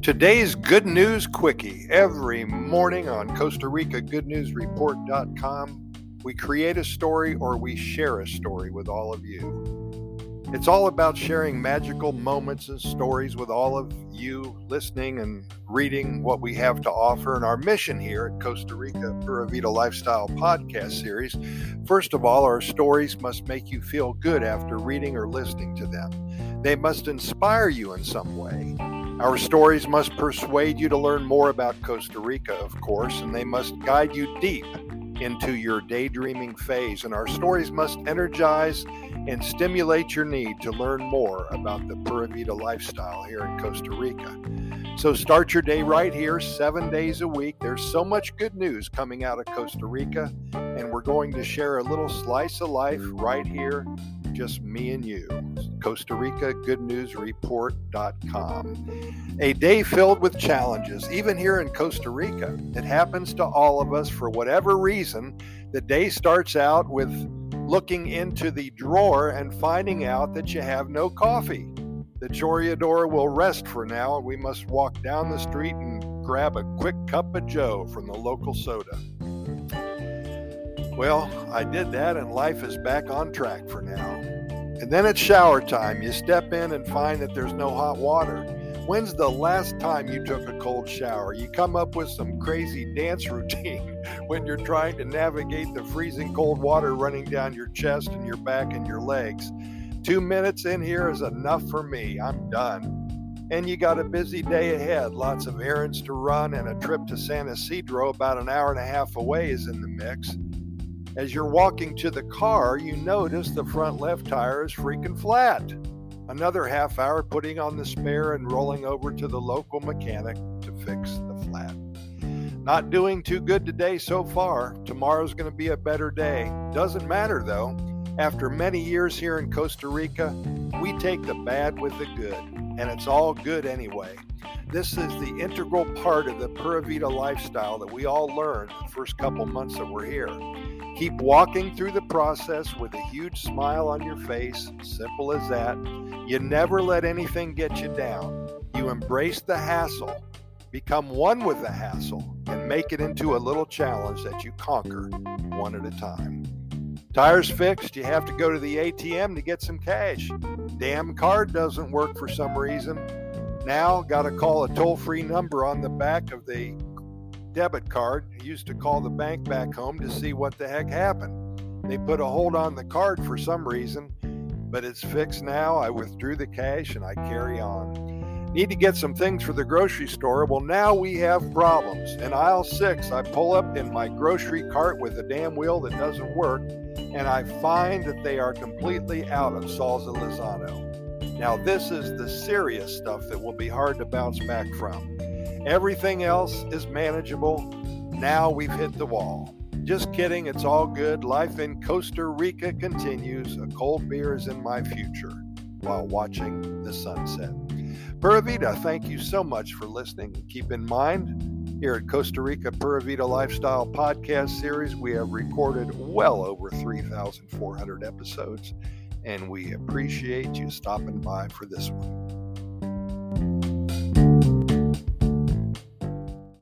Today's Good News Quickie. Every morning on Costa Rica GoodNewsReport.com, we create a story or we share a story with all of you. It's all about sharing magical moments and stories with all of you listening and reading what we have to offer. And our mission here at Costa Rica Pura Vida Lifestyle Podcast Series, first of all, our stories must make you feel good after reading or listening to them. They must inspire you in some way. Our stories must persuade you to learn more about Costa Rica, of course, and they must guide you deep into your daydreaming phase. And our stories must energize and stimulate your need to learn more about the Pura Vida lifestyle here in Costa Rica. So start your day right here, 7 days a week. There's so much good news coming out of Costa Rica, and we're going to share a little slice of life right here, just me and you. Costa Rica GoodNewsReport.com. A day filled with challenges, even here in Costa Rica. It happens to all of us for whatever reason. The day starts out with looking into the drawer and finding out that you have no coffee. The Choreador will rest for now, and we must walk down the street and grab a quick cup of joe from the local soda. Well, I did that, and life is back on track for now. And then it's shower time. You step in and find that there's no hot water. When's the last time you took a cold shower? You come up with some crazy dance routine when you're trying to navigate the freezing cold water running down your chest and your back and your legs. 2 minutes in here is enough for me. I'm done. And you got a busy day ahead. Lots of errands to run, and a trip to San Isidro about an hour and a half away is in the mix. As you're walking to the car, you notice the front left tire is freaking flat. Another half hour putting on the spare and rolling over to the local mechanic to fix the flat. Not doing too good today so far. Tomorrow's going to be a better day. Doesn't matter though. After many years here in Costa Rica, we take the bad with the good, and it's all good anyway. This is the integral part of the Pura Vida lifestyle that we all learn the first couple months that we're here. Keep walking through the process with a huge smile on your face, simple as that. You never let anything get you down. You embrace the hassle, become one with the hassle, and make it into a little challenge that you conquer one at a time. Tires fixed, you have to go to the ATM to get some cash. Damn card doesn't work for some reason. Now, got to call a toll-free number on the back of the debit card. I used to call the bank back home to see what the heck happened. They put a hold on the card for some reason, but it's fixed now. I withdrew the cash and I carry on. Need to get some things for the grocery store. Well, now we have problems. In aisle 6, I pull up in my grocery cart with a damn wheel that doesn't work, and I find that they are completely out of salsa Lizano. Now, this is the serious stuff that will be hard to bounce back from. Everything else is manageable. Now we've hit the wall. Just kidding, it's all good. Life in Costa Rica continues. A cold beer is in my future while watching the sunset. Pura Vida, thank you so much for listening. Keep in mind, here at Costa Rica Pura Vida Lifestyle Podcast Series, we have recorded well over 3,400 episodes, and we appreciate you stopping by for this one.